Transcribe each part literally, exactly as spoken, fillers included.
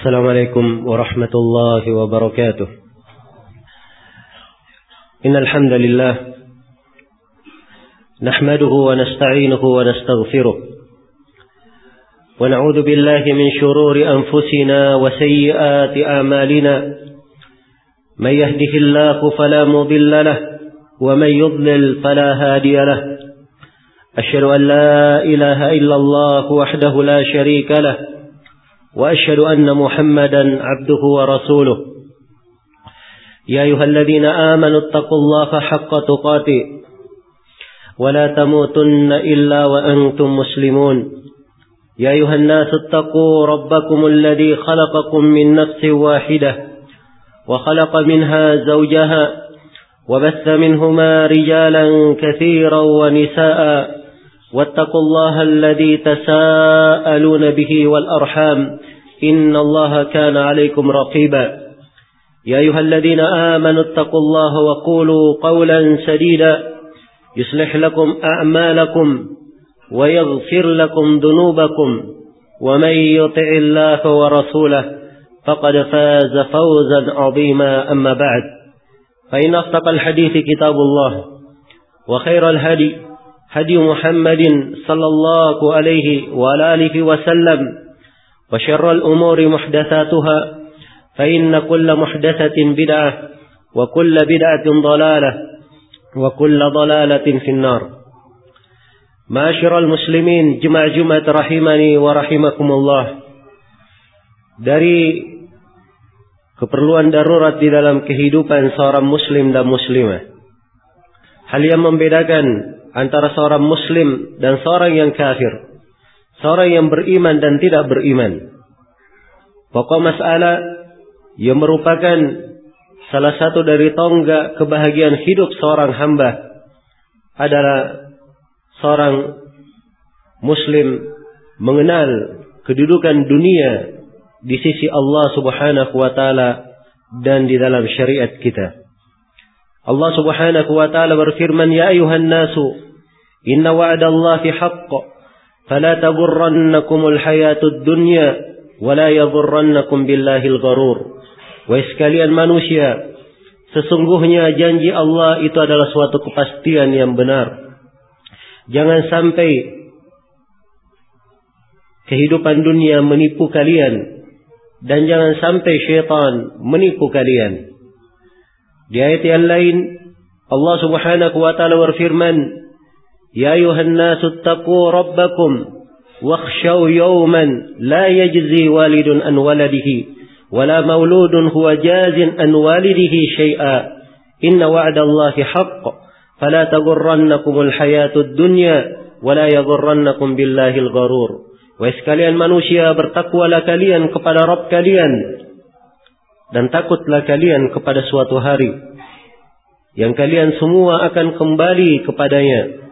Assalamualaikum warahmatullahi wabarakatuh. Innal hamdalillah nahmaduhu wa nasta'inuhu wa nastaghfiruh wa na'udzu billahi min shururi anfusina wa sayyiati a'malina. May yahdihillahu fala mudilla lahu wa may yudlil fala hadiya lahu. Asyhadu an la ilaha illallah wahdahu la syarika lahu وأشهد أن محمدا عبده ورسوله. يا أيها الذين آمنوا اتقوا الله حق تقاته ولا تموتن إلا وأنتم مسلمون. يا أيها الناس اتقوا ربكم الذي خلقكم من نفس واحدة وخلق منها زوجها وبث منهما رجالا كثيرا ونساء واتقوا الله الذي تساءلون به والأرحام إن الله كان عليكم رقيبا. يا أيها الذين آمنوا اتقوا الله وقولوا قولا سديدا يصلح لكم أعمالكم ويغفر لكم ذنوبكم ومن يطع الله ورسوله فقد فاز فوزا عظيما. أما بعد فإن أصدق الحديث كتاب الله وخير الهدي هدي محمد صلى الله عليه وعلى آله وسلم وشر الأمور محدثاتها فإن كل محدثة بدعة وكل بدعة ضلالة وكل ضلالة في النار. معاشر المسلمين jemaah Jumat rahimani wa rahimakumullah. Dari keperluan darurat di dalam kehidupan seorang muslim dan muslimah, hal yang membedakan antara seorang muslim dan seorang yang kafir, seorang yang beriman dan tidak beriman, pokok masalah yang merupakan salah satu dari tonggak kebahagiaan hidup seorang hamba adalah seorang muslim mengenal kedudukan dunia di sisi Allah Subhanahu wa taala dan di dalam syariat kita. Allah Subhanahu wa taala berfirman, ya ayuhan nasu inna wa'dallahi haqq fala taghurrannakumul hayatud dunya wala yaghurrannakum billahil gharur. Wahai sekalian manusia, sesungguhnya janji Allah itu adalah suatu kepastian yang benar. Jangan sampai kehidupan dunia menipu kalian dan jangan sampai syaitan menipu kalian. Di ayat yang lain Allah Subhanahu wa taala berfirman, ya ayuhan nasu taqu rabbakum wakhshaw yawman la yajzi walidun an waladihi wala mauludun huwa jazin an walidihi syai'a inna wa'dallahi haqq fala taghurrannakumul hayatud dunya wala yaghurrannakum billahil gharur. Wahai sekalian manusia, bertakwalah kalian kepada Rabb kalian dan takutlah kalian kepada suatu hari yang kalian semua akan kembali kepadanya.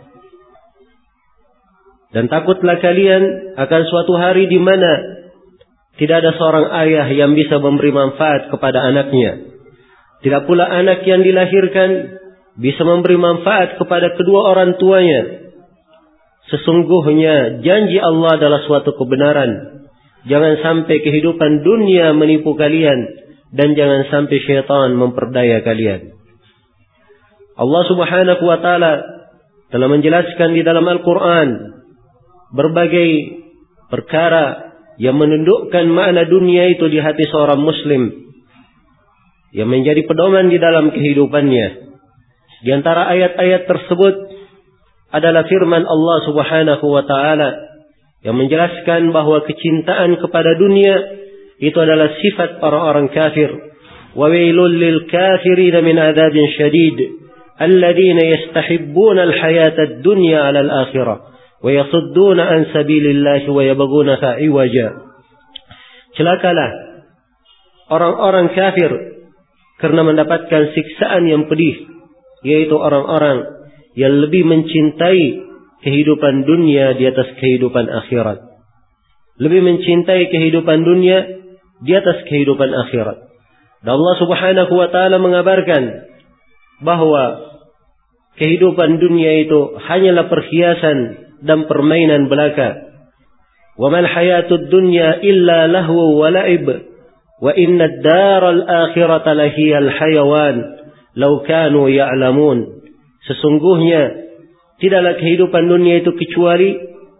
Dan takutlah kalian akan suatu hari di mana tidak ada seorang ayah yang bisa memberi manfaat kepada anaknya. Tidak pula anak yang dilahirkan bisa memberi manfaat kepada kedua orang tuanya. Sesungguhnya janji Allah adalah suatu kebenaran. Jangan sampai kehidupan dunia menipu kalian dan jangan sampai syaitan memperdaya kalian. Allah Subhanahu wa taala telah menjelaskan di dalam Al-Quran berbagai perkara yang menundukkan makna dunia itu di hati seorang muslim, yang menjadi pedoman di dalam kehidupannya. Di antara ayat-ayat tersebut adalah firman Allah Subhanahu wa taala yang menjelaskan bahwa kecintaan kepada dunia itu adalah sifat para orang kafir. Wa wailul lil kafirin min adzabin syadid alladzina yastahibbuna al-hayata ad-dunya 'ala al-akhirah wa yasudduna an sabilillahi wa yabghunaha 'iwaja. Celakalah orang-orang kafir karena mendapatkan siksaan yang pedih, yaitu orang-orang yang lebih mencintai kehidupan dunia di atas kehidupan akhirat. Lebih mencintai kehidupan dunia di atas kehidupan akhirat. Dan Allah Subhanahu wa taala mengabarkan bahwa kehidupan dunia itu hanyalah perhiasan dan permainan belaka. Wa mal hayatud dunya illa lahu wa la'ib wa inna ad-daral akhirata lahiyal hayawan law kanu ya'lamun. Sesungguhnya tidaklah kehidupan dunia itu kecuali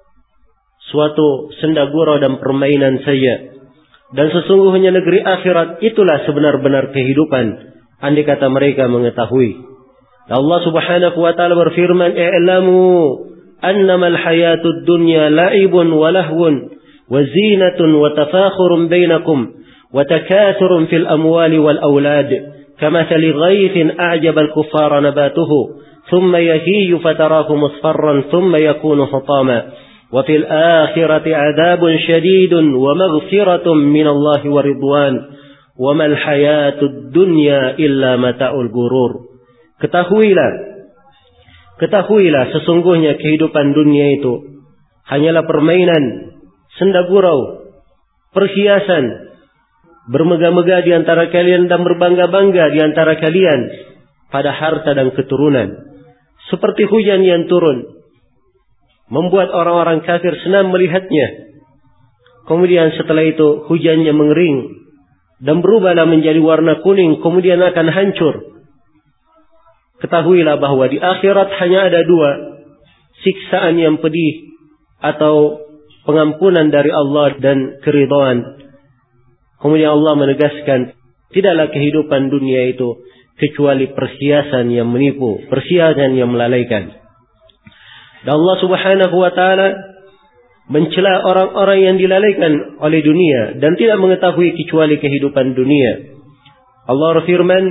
suatu senda gurau dan permainan saja. Dan sesungguhnya negeri akhirat itulah sebenar-benar kehidupan, andai kata mereka mengetahui. Allah Subhanahu wa taala berfirman, "I'lamu annama al-hayatud dunya la'ibun wa lahwun wa zinatun wa tafakhurun bainakum wa takathurun fil amwali wal aulad kamathali ghaythin a'jaba al-kuffara nabatuhu ثم يهيج فتراه مصفرا ثم يكون حطاما وفي الآخرة عذاب شديد ومغفرة من الله ورضوان وما الحياة الدنيا إلا متاع الغرور." Ketahuilah, ketahuilah sesungguhnya kehidupan dunia itu hanyalah permainan, senda gurau, perhiasan, bermegah-megah di antara kalian dan berbangga-bangga di antara kalian pada harta dan keturunan. Seperti hujan yang turun, membuat orang-orang kafir senang melihatnya. Kemudian setelah itu hujannya mengering dan berubahlah menjadi warna kuning, kemudian akan hancur. Ketahuilah bahwa di akhirat hanya ada dua, siksaan yang pedih atau pengampunan dari Allah dan keridhaan. Kemudian Allah menegaskan, tidaklah kehidupan dunia itu kecuali perhiasan yang menipu, perhiasan yang melalaikan. Dan Allah Subhanahu wa taala mencela orang-orang yang dilalaikan oleh dunia dan tidak mengetahui kecuali kehidupan dunia. Allah berfirman,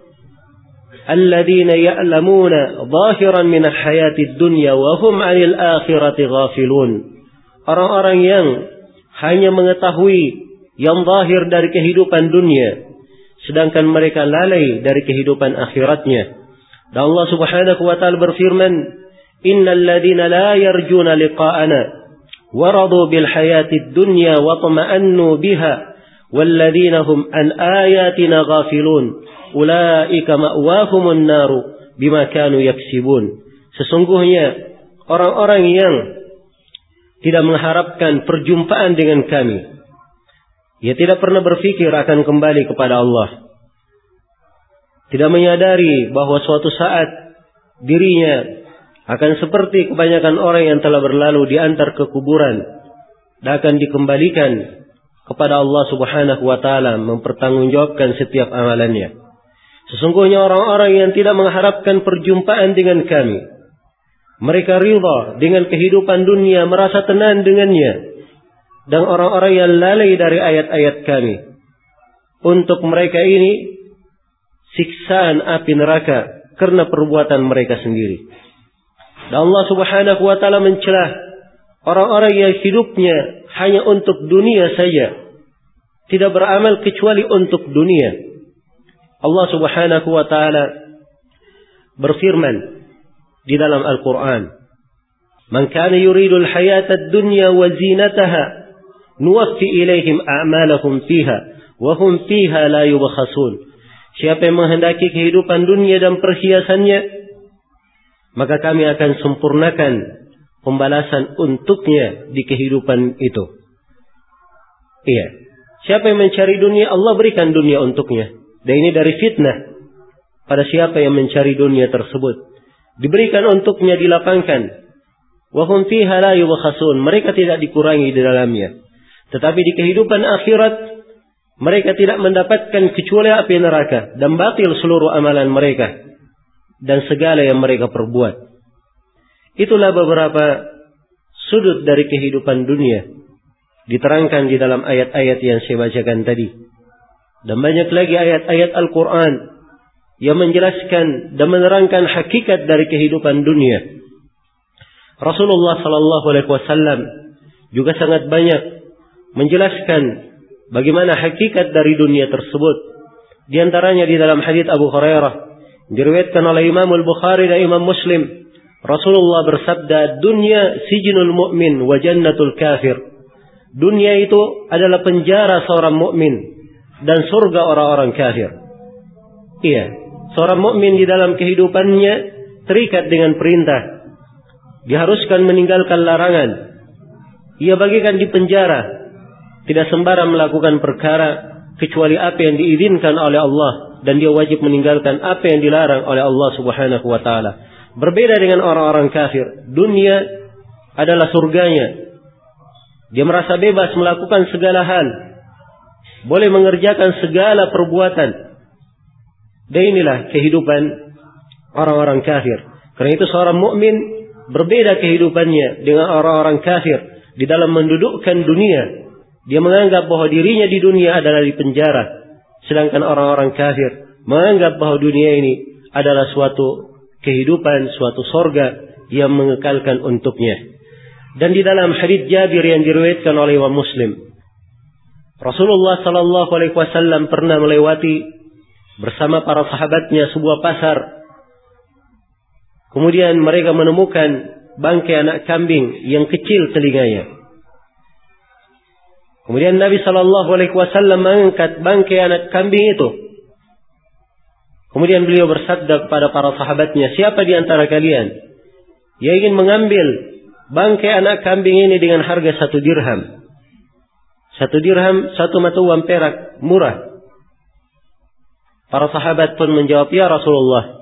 "Alladzina ya'lamuna zahiran minal hayatid dunya wa hum 'anil akhirati ghafilun." Orang-orang yang hanya mengetahui yang zahir dari kehidupan dunia, sedangkan mereka lalai dari kehidupan akhiratnya. Dan Allah Subhanahu wa taala berfirman, "Innal ladzina la yarjuna liqa'ana wa radu bil hayatid dunya wa tama'annu biha wal ladzina hum an ayatina ghafilun ulaika ma'wahumun naru bima kanu yaksibun." Sesungguhnya orang-orang yang tidak mengharapkan perjumpaan dengan kami, ia tidak pernah berpikir akan kembali kepada Allah, tidak menyadari bahwa suatu saat dirinya akan seperti kebanyakan orang yang telah berlalu diantar ke kuburan dan akan dikembalikan kepada Allah Subhanahu wa taala mempertanggungjawabkan setiap amalannya. Sesungguhnya orang-orang yang tidak mengharapkan perjumpaan dengan kami, mereka ridha dengan kehidupan dunia, merasa tenang dengannya. Dan orang-orang yang lalai dari ayat-ayat kami, untuk mereka ini siksaan api neraka karena perbuatan mereka sendiri. Dan Allah Subhanahu wa taala mencela orang-orang yang hidupnya hanya untuk dunia saja, tidak beramal kecuali untuk dunia. Allah Subhanahu wa taala berfirman di dalam Al-Qur'an, "Man kana yuridul hayatad dunya wa zinataha nuwaffi ilaihim a'malahum fiha wa hum fiha la yubkhasun." Siapa yang menghendaki kehidupan dunia dan perhiasannya, maka kami akan sempurnakan pembalasan untuknya di kehidupan itu. Iya, siapa yang mencari dunia, Allah berikan dunia untuknya. Dan ini dari fitnah pada siapa yang mencari dunia tersebut. Diberikan untuknya, dilapangkan. Wa hum fiha la yubkhasun, mereka tidak dikurangi di dalamnya. Tetapi di kehidupan akhirat mereka tidak mendapatkan kecuali api neraka dan batil seluruh amalan mereka dan segala yang mereka perbuat. Itulah beberapa sudut dari kehidupan dunia diterangkan di dalam ayat-ayat yang saya bacakan tadi. Dan banyak lagi ayat-ayat Al-Quran yang menjelaskan dan menerangkan hakikat dari kehidupan dunia. Rasulullah sallallahu alaihi wasallam juga sangat banyak menjelaskan bagaimana hakikat dari dunia tersebut. Di antaranya di dalam hadits Abu Hurairah diriwayatkan oleh Imam Al-Bukhari dan Imam Muslim, Rasulullah bersabda, "Dunya sijnul mu'min wa jannatul kafir." Dunia itu adalah penjara seorang mukmin dan surga orang-orang kafir. Iya, seorang mukmin di dalam kehidupannya terikat dengan perintah, diharuskan meninggalkan larangan. Ia bagikan di penjara, tidak sembarang melakukan perkara, kecuali apa yang diizinkan oleh Allah, dan dia wajib meninggalkan apa yang dilarang oleh Allah Subhanahu wa taala. Berbeda dengan orang-orang kafir, dunia adalah surganya. Dia merasa bebas melakukan segala hal, boleh mengerjakan segala perbuatan. Dan inilah kehidupan orang-orang kafir. Karena itu seorang mukmin berbeda kehidupannya dengan orang-orang kafir di dalam mendudukkan dunia. Dia menganggap bahwa dirinya di dunia adalah di penjara, sedangkan orang-orang kafir menganggap bahwa dunia ini adalah suatu kehidupan, suatu sorga yang mengekalkan untuknya. Dan di dalam hadits Jabir yang diriwayatkan oleh Imam Muslim, Rasulullah sallallahu alaihi wasallam pernah melewati bersama para sahabatnya sebuah pasar. Kemudian mereka menemukan bangkai anak kambing yang kecil telinganya. Kemudian Nabi sallallahu alaihi wasallam mengangkat bangkai anak kambing itu. Kemudian beliau bersabda kepada para sahabatnya, siapa di antara kalian yang ingin mengambil bangkai anak kambing ini dengan harga satu dirham? Satu dirham, satu mata uang perak, murah. Para sahabat pun menjawab, ya Rasulullah,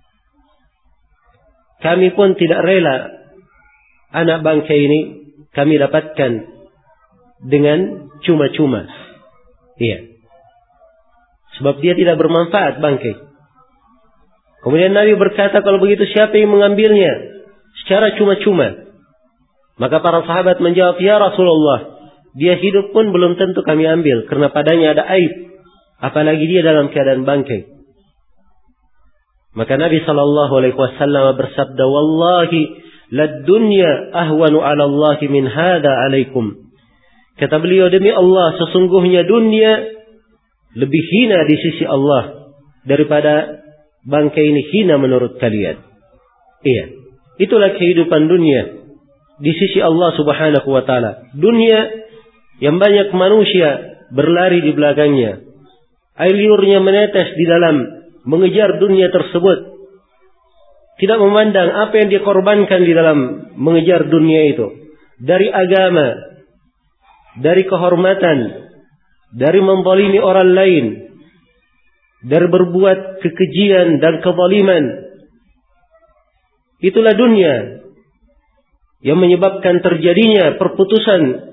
kami pun tidak rela anak bangkai ini kami dapatkan dengan cuma-cuma. Iya. Sebab dia tidak bermanfaat bangkai. Kemudian Nabi berkata, kalau begitu siapa yang mengambilnya secara cuma-cuma? Maka para sahabat menjawab, ya Rasulullah, dia hidup pun belum tentu kami ambil, karena padanya ada aib, apalagi dia dalam keadaan bangkai. Maka Nabi sallallahu alaihi wasallam bersabda, wallahi lad dunya ahwanu 'ala Allah min hada 'alaikum. Kata beliau, demi Allah, sesungguhnya dunia lebih hina di sisi Allah daripada bangkai ini hina menurut kalian. Iya, itulah kehidupan dunia di sisi Allah Subhanahu wa taala. Dunia yang banyak manusia berlari di belakangnya, air liurnya menetes di dalam mengejar dunia tersebut, tidak memandang apa yang dikorbankan di dalam mengejar dunia itu, dari agama, dari kehormatan, dari menzalimi orang lain, dari berbuat kekejian dan kezaliman. Itulah dunia yang menyebabkan terjadinya perputusan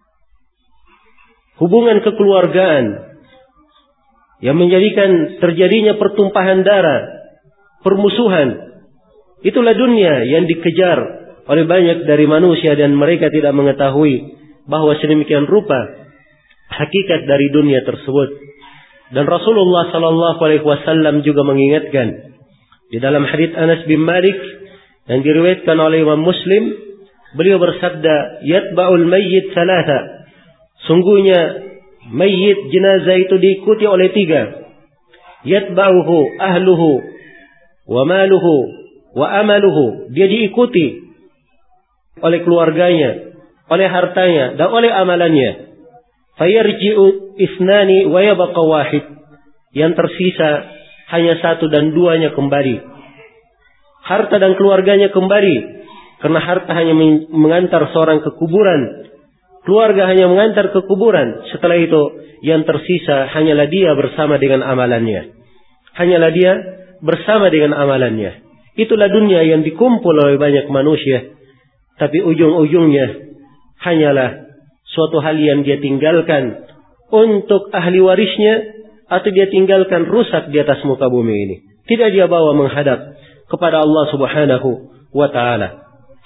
hubungan kekeluargaan, yang menjadikan terjadinya pertumpahan darah, permusuhan. Itulah dunia yang dikejar oleh banyak dari manusia, dan mereka tidak mengetahui bahwa sedemikian rupa hakikat dari dunia tersebut. Dan Rasulullah sallallahu alaihi wasallam juga mengingatkan di dalam hadits Anas bin Malik yang diriwayatkan oleh Imam Muslim, beliau bersabda, yatba'ul mayyit thalatha. Sungguhnya mayit, jenazah itu diikuti oleh tiga. Yatba'uhu ahluhu wa maluhu wa amaluhu. Dia diikuti oleh keluarganya, oleh hartanya, dan oleh amalannya. Fayarji'u isnani wa yabqa wahid. Yang tersisa hanya satu dan duanya kembali. Harta dan keluarganya kembali, karena harta hanya mengantar seorang ke kuburan, keluarga hanya mengantar ke kuburan. Setelah itu yang tersisa hanyalah dia bersama dengan amalannya. Hanyalah dia bersama dengan amalannya. Itulah dunia yang dikumpul oleh banyak manusia, tapi ujung-ujungnya hanyalah suatu hal yang dia tinggalkan untuk ahli warisnya, atau dia tinggalkan rusak di atas muka bumi ini. Tidak dia bawa menghadap kepada Allah Subhanahu wa taala.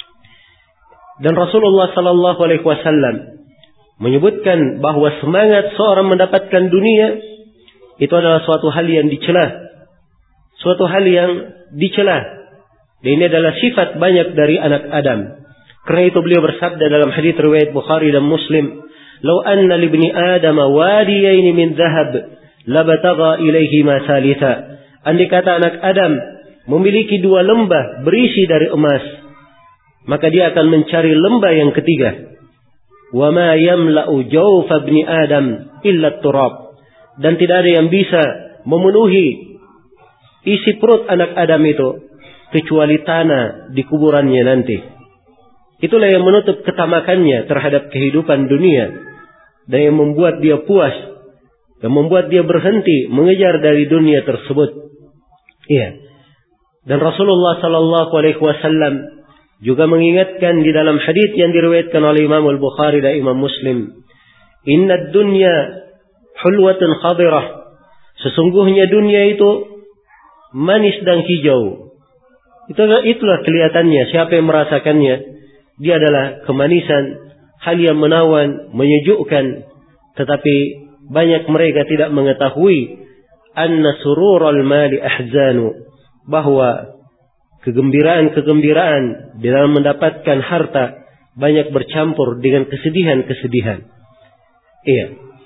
Dan Rasulullah sallallahu alaihi wasallam menyebutkan bahwa semangat seorang mendapatkan dunia itu adalah suatu hal yang dicela, suatu hal yang dicela. Dan ini adalah sifat banyak dari anak Adam. Karena itu beliau bersabda dalam hadits riwayat Bukhari dan Muslim, "Lau anna libni Adam wadiyain min dhahab, labatagha ilaihi ma salitha." Andai kata anak Adam memiliki dua lembah berisi dari emas, maka dia akan mencari lembah yang ketiga. Wa ma yamla'u jawfa ibni Adam illa turab. Dan tidak ada yang bisa memenuhi isi perut anak Adam itu kecuali tanah di kuburannya nanti. Itulah yang menutup ketamakannya terhadap kehidupan dunia dan yang membuat dia puas yang membuat dia berhenti mengejar dari dunia tersebut. Iya. Dan Rasulullah sallallahu alaihi wasallam juga mengingatkan di dalam hadis yang diriwayatkan oleh Imam Al-Bukhari dan Imam Muslim, "Innad dunya hulwatun khadirah." Sesungguhnya dunia itu manis dan hijau. Itulah, itulah kelihatannya. Siapa yang merasakannya, dia adalah kemanisan, hal yang menawan, menyejukkan. Tetapi banyak mereka tidak mengetahui anna surural mali ahzanu, bahwa kegembiraan-kegembiraan di dalam mendapatkan harta banyak bercampur dengan kesedihan-kesedihan. Iya.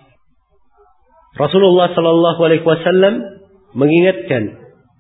Rasulullah sallallahu alaihi wasallam mengingatkan,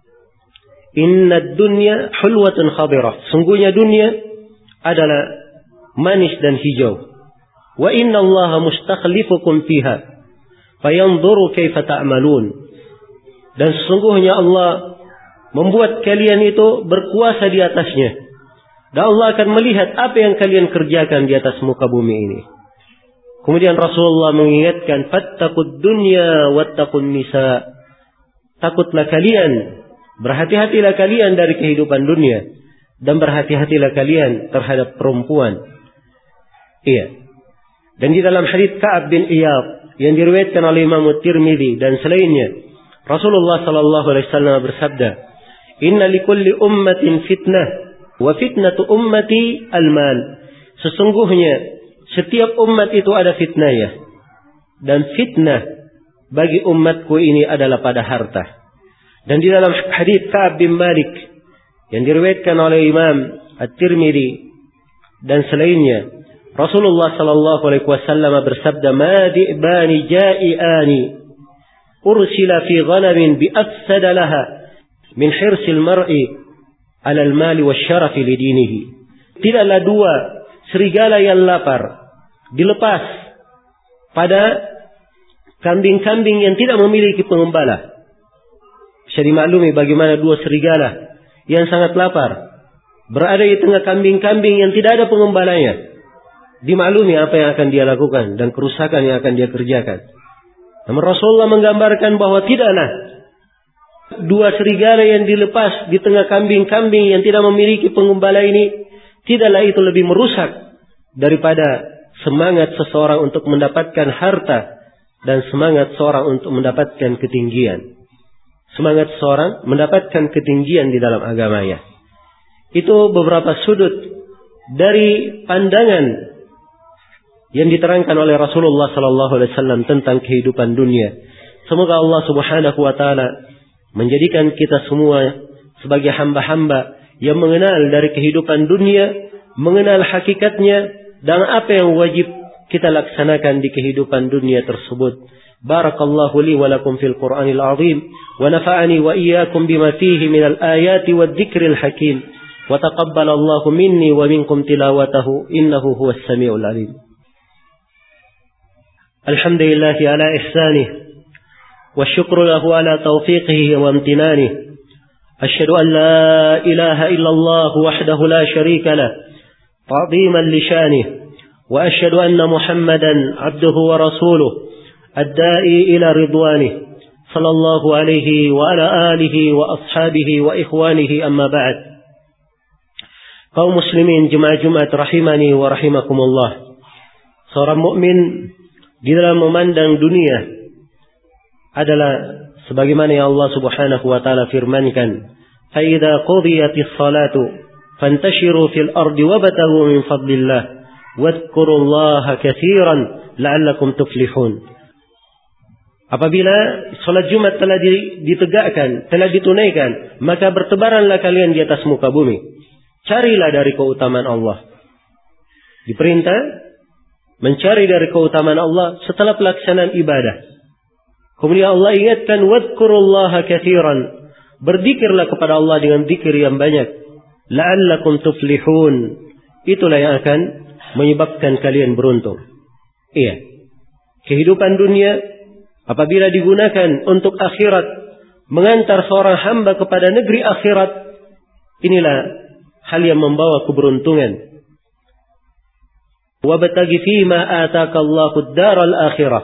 "Innad dunya hulwatun khadirah." Sungguhnya dunia adalah manis dan hijau. "Wa inna Allaha mustakhlifukum fiha fayanzuru kaifa ta'malun." Dan sesungguhnya Allah membuat kalian itu berkuasa di atasnya. Dan Allah akan melihat apa yang kalian kerjakan di atas muka bumi ini. Kemudian Rasulullah mengingatkan, "Fattaqud dunya wattaqun nisa." Takutlah kalian, berhati-hatilah kalian dari kehidupan dunia, dan berhati-hatilah kalian terhadap perempuan. Iya. Dan di dalam hadits Ka'ab bin Iyad yang diriwayatkan oleh Imam Tirmidzi dan selainnya, Rasulullah sallallahu alaihi wasallam bersabda, "Inna likulli ummatin fitnah, wa fitnatu ummati al-mal." Sesungguhnya setiap umat itu ada fitnahnya, dan fitnah bagi umatku ini adalah pada harta. Dan di dalam hadits Ka'ab bin Malik yang diriwayatkan oleh Imam At-Tirmidzi dan selainnya, Rasulullah sallallahu alaihi wasallam bersabda, "Ma di'bani ja'iani ursila fi ghanamin bi afsada laha min hirsil mar'i 'ala al-mali wasyarafi li dinihi." Tidaklah dua serigala yang lapar dilepas pada kambing-kambing yang tidak memiliki pengembala. Bisa dimaklumi bagaimana dua serigala yang sangat lapar berada di tengah kambing-kambing yang tidak ada pengembalanya. Dimaklumi apa yang akan dia lakukan dan kerusakan yang akan dia kerjakan. Namun Rasulullah menggambarkan bahwa tidaklah dua serigala yang dilepas di tengah kambing-kambing yang tidak memiliki pengembala ini, tidaklah itu lebih merusak daripada semangat seseorang untuk mendapatkan harta dan semangat seorang untuk mendapatkan ketinggian. Semangat seorang mendapatkan ketinggian di dalam agamanya. Itu beberapa sudut dari pandangan yang diterangkan oleh Rasulullah sallallahu alaihi wasallam tentang kehidupan dunia. Semoga Allah Subhanahu wa taala menjadikan kita semua sebagai hamba-hamba yang mengenal dari kehidupan dunia, mengenal hakikatnya, dan apa yang wajib kita laksanakan di kehidupan dunia tersebut. Barakallahu li wa lakum fil Qur'anil azim, wa nafa'ani wa iyyakum bima fihi minal ayati wad dzikril hakim, wa taqabbalallahu minni wa minkum tilawatahu innahu huwas samiul alim. Alhamdulillahi ala ihsanih, wa syukru lahu ala taufiqihi wa amtinanihi. Asyhadu an la ilaha illallah wahdahu la syarika lah, ta'ziman li syanihi, wa asyhadu anna Muhammadan abduhu wa rasuluh, ad-da'i ila ridwanihi, sallallahu alaihi wa ala alihi wa ashabihi wa ikhwanihi, amma ba'd. Kaum muslimin jemaah Jumat rahimani wa rahimakumullah. Seorang mukmin di dalam memandang dunia adalah sebagaimana yang Allah Subhanahu wa taala firmankan, "Fa idza qudiyatis salatu fantashiru fil ardi wabtaghu min fadlillah wadhkurullaha katsiran la'allakum tuflihun." Apabila salat Jumat telah ditegakkan, telah ditunaikan, maka bertebaranlah kalian di atas muka bumi. Carilah dari keutamaan Allah. Diperintah mencari dari keutamaan Allah setelah pelaksanaan ibadah. Kemudian Allah ingatkan, wadhkurullaha katsiran. Berzikirlah kepada Allah dengan zikir yang banyak. La'allakum tuflihun. Itulah yang akan menyebabkan kalian beruntung. Iya. Kehidupan dunia apabila digunakan untuk akhirat, mengantar seorang hamba kepada negeri akhirat, inilah hal yang membawa keberuntungan. Wabtaghi fima ataka Allahu ad-daral akhirah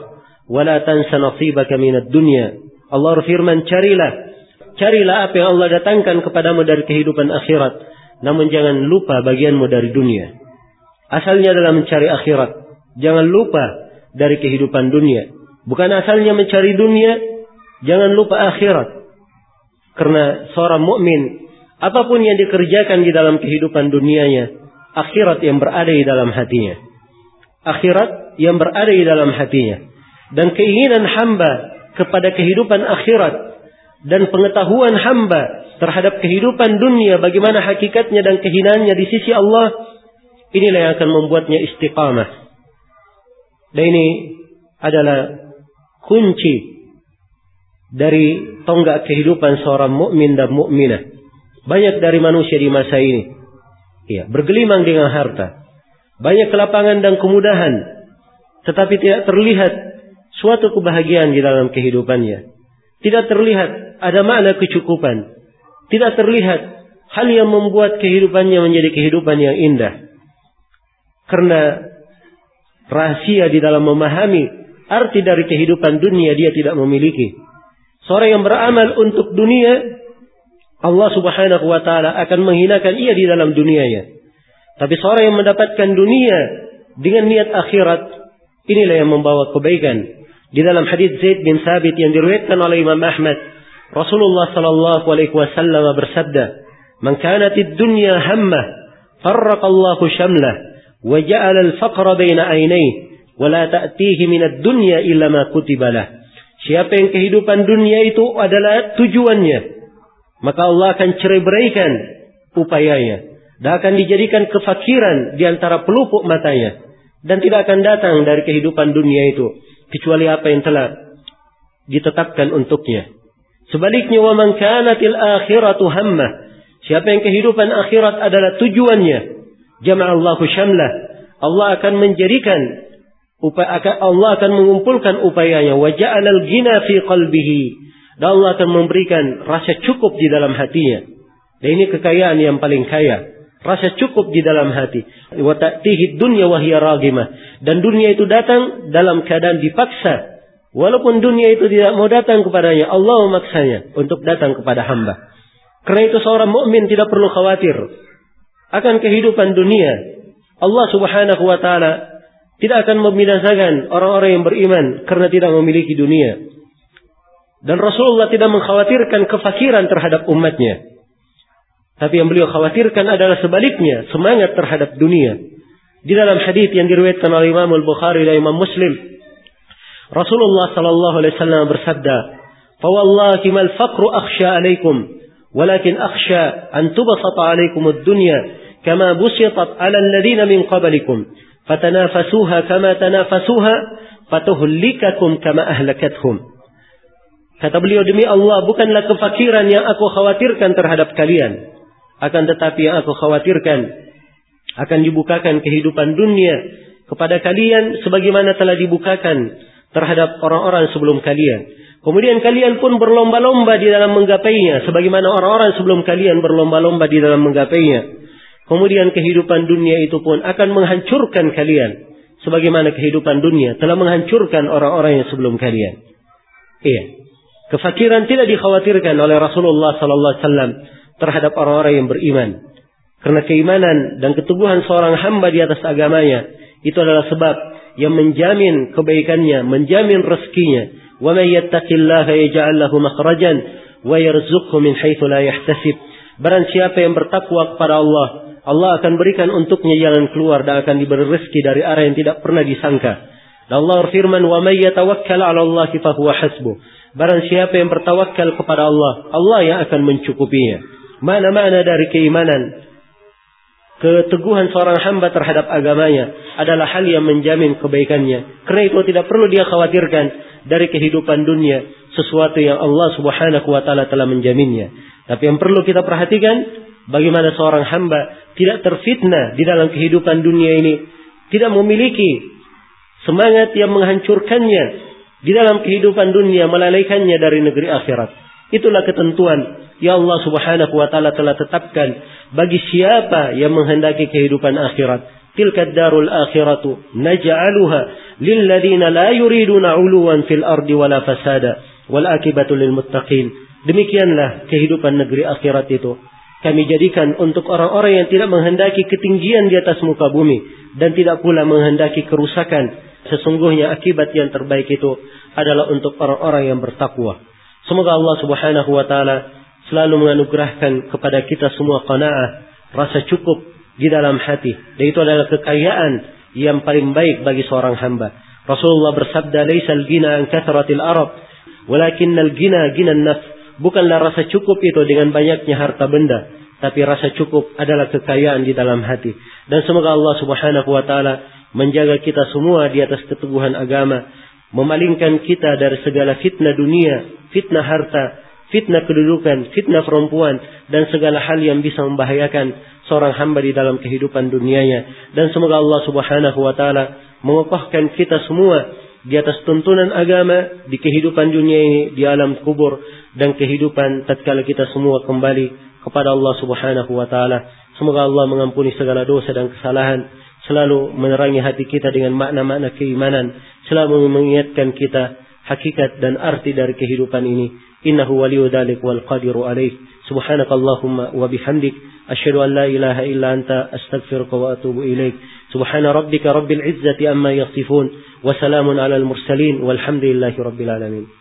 wa la tansa nasibaka minad dunya. Allah berfirman, carilah, carilah apa yang Allah datangkan kepadamu dari kehidupan akhirat, namun jangan lupa bagianmu dari dunia. Asalnya adalah mencari akhirat, jangan lupa dari kehidupan dunia. Bukan asalnya mencari dunia, jangan lupa akhirat. Karena seorang mukmin, apapun yang dikerjakan di dalam kehidupan dunianya, akhirat yang berada di dalam hatinya. Akhirat yang berada di dalam hatinya. Dan keinginan hamba kepada kehidupan akhirat dan pengetahuan hamba terhadap kehidupan dunia, bagaimana hakikatnya dan kehinaannya di sisi Allah, inilah yang akan membuatnya istiqamah. Dan ini adalah kunci dari tonggak kehidupan seorang mukmin dan mukminah. Banyak dari manusia di masa ini, ya, bergelimang dengan harta, banyak kelapangan dan kemudahan, tetapi tidak terlihat suatu kebahagiaan di dalam kehidupannya. Tidak terlihat ada makna kecukupan. Tidak terlihat hal yang membuat kehidupannya menjadi kehidupan yang indah. Karena rahasia di dalam memahami arti dari kehidupan dunia dia tidak memiliki. Seorang yang beramal untuk dunia, Allah subhanahu wa ta'ala akan menghinakan ia di dalam dunianya. Tapi seorang yang mendapatkan dunia dengan niat akhirat, inilah yang membawa kebaikan. Di dalam hadits Zaid bin Thabit yang diriwayatkan oleh Imam Ahmad, Rasulullah sallallahu alaihi wasallam bersabda, "Man kanatid dunya hammah, farraqallahu shamlah, wa ja'ala al-faqra baina 'ainayhi, wa la ta'tihi min ad-dunya illa ma kutiba lah." Siapa yang kehidupan dunia itu adalah tujuannya, maka Allah akan cerai-beraikan upayanya dan akan dijadikan kefakiran di antara pelupuk matanya, dan tidak akan datang dari kehidupan dunia itu kecuali apa yang telah ditetapkan untuknya. Sebaliknya, wa man kanatil akhiratu hammah, siapa yang kehidupan akhirat adalah tujuannya, jama'allahu syamlah, Allah akan menjadikan Allah akan mengumpulkan upayanya, wa ja'alal ghina fi qalbihi, dan Allah akan memberikan rasa cukup di dalam hatinya. Dan ini kekayaan yang paling kaya, rasa cukup di dalam hati. Wa ta'tihi dunya wa hiya raghimah, dan dunia itu datang dalam keadaan dipaksa. Walaupun dunia itu tidak mau datang kepadanya, Allah memaksanya untuk datang kepada hamba. Karena itu seorang mukmin tidak perlu khawatir akan kehidupan dunia. Allah subhanahu wa ta'ala tidak akan membinasakan orang-orang yang beriman karena tidak memiliki dunia. Dan Rasulullah tidak mengkhawatirkan kefakiran terhadap umatnya. Tapi yang beliau khawatirkan adalah sebaliknya, semangat terhadap dunia. Di dalam hadis yang diriwayatkan oleh Imam Al-Bukhari dan Imam Muslim, Rasulullah sallallahu alaihi wasallam bersabda, "Fa wallahi mal faqru akhsha alaikum, walakin akhsha an tubsata alaikum ad-dunya kama busitat 'ala alladhina min qablikum. Fatanafasuha kama tanafasuha, fatuhlikakum kama ahlakathum." Kata beliau, demi Allah, bukanlah kefakiran yang aku khawatirkan terhadap kalian, akan tetapi yang aku khawatirkan akan dibukakan kehidupan dunia kepada kalian sebagaimana telah dibukakan terhadap orang-orang sebelum kalian. Kemudian kalian pun berlomba-lomba di dalam menggapainya sebagaimana orang-orang sebelum kalian berlomba-lomba di dalam menggapainya. Kemudian kehidupan dunia itu pun akan menghancurkan kalian sebagaimana kehidupan dunia telah menghancurkan orang-orang yang sebelum kalian. Iya. Kefakiran tidak dikhawatirkan oleh Rasulullah sallallahu alaihi wasallam terhadap orang-orang yang beriman. Karena keimanan dan keteguhan seorang hamba di atas agamanya itu adalah sebab yang menjamin kebaikannya, menjamin rezekinya. Wa may yattaqillaha yaj'al lahu makhrajan wa yarzuqhu min haitsu la yahtasib. Barang siapa yang bertakwa kepada Allah, Allah akan berikan untuknya jalan keluar dan akan diberi rezeki dari arah yang tidak pernah disangka. Dan Allah berfirman, "Wa may yatawakkal 'ala Allahi fa huwa hasbuh." Barang siapa yang bertawakal kepada Allah, Allah yang akan mencukupinya. Mana-mana dari keimanan, keteguhan seorang hamba terhadap agamanya adalah hal yang menjamin kebaikannya. Karena itu tidak perlu dia khawatirkan dari kehidupan dunia sesuatu yang Allah subhanahu wa ta'ala telah menjaminnya. Tapi yang perlu kita perhatikan, bagaimana seorang hamba tidak terfitnah di dalam kehidupan dunia ini, tidak memiliki semangat yang menghancurkannya di dalam kehidupan dunia, melalaikannya dari negeri akhirat. Itulah ketentuan yang Allah subhanahu wa ta'ala telah tetapkan bagi siapa yang menghendaki kehidupan akhirat. tilka ad-darul akhiratu naj'aluha lil ladzina la yuriduna 'uluwan fil ardi wala fasada wal akibatu lil muttaqin. Demikianlah kehidupan negeri akhirat itu kami jadikan untuk orang-orang yang tidak menghendaki ketinggian di atas muka bumi dan tidak pula menghendaki kerusakan. Sesungguhnya akibat yang terbaik itu adalah untuk orang-orang yang bertakwa. Semoga Allah Subhanahu wa taala selalu menganugerahkan kepada kita semua qanaah, rasa cukup di dalam hati. Dan itu adalah kekayaan yang paling baik bagi seorang hamba. Rasulullah bersabda, "Laisal ghina an kathratil arab, walakinnal ghina ghinan nafs." Bukanlah rasa cukup itu dengan banyaknya harta benda, tapi rasa cukup adalah kekayaan di dalam hati. Dan semoga Allah Subhanahu wa taala menjaga kita semua di atas keteguhan agama, memalingkan kita dari segala fitnah dunia, fitnah harta, fitnah kedudukan, fitnah perempuan, dan segala hal yang bisa membahayakan seorang hamba di dalam kehidupan dunianya. Dan semoga Allah Subhanahu wa taala mengokohkan kita semua di atas tuntunan agama di kehidupan dunia ini, di alam kubur, dan kehidupan tatkala kita semua kembali kepada Allah Subhanahu wa taala. Semoga Allah mengampuni segala dosa dan kesalahan, selalu menerangi hati kita dengan makna-makna keimanan, selalu mengingatkan kita hakikat dan arti dari kehidupan ini. Innahu waliyyu dzalik wal qadiru alaih. Subhanakallahumma wa bihamdik asyhadu an la ilaha illa anta astaghfiruka wa atubu ilaik. Subhana rabbika rabbil izzati amma yasifun wa salamun alal mursalin walhamdulillahi rabbil alamin.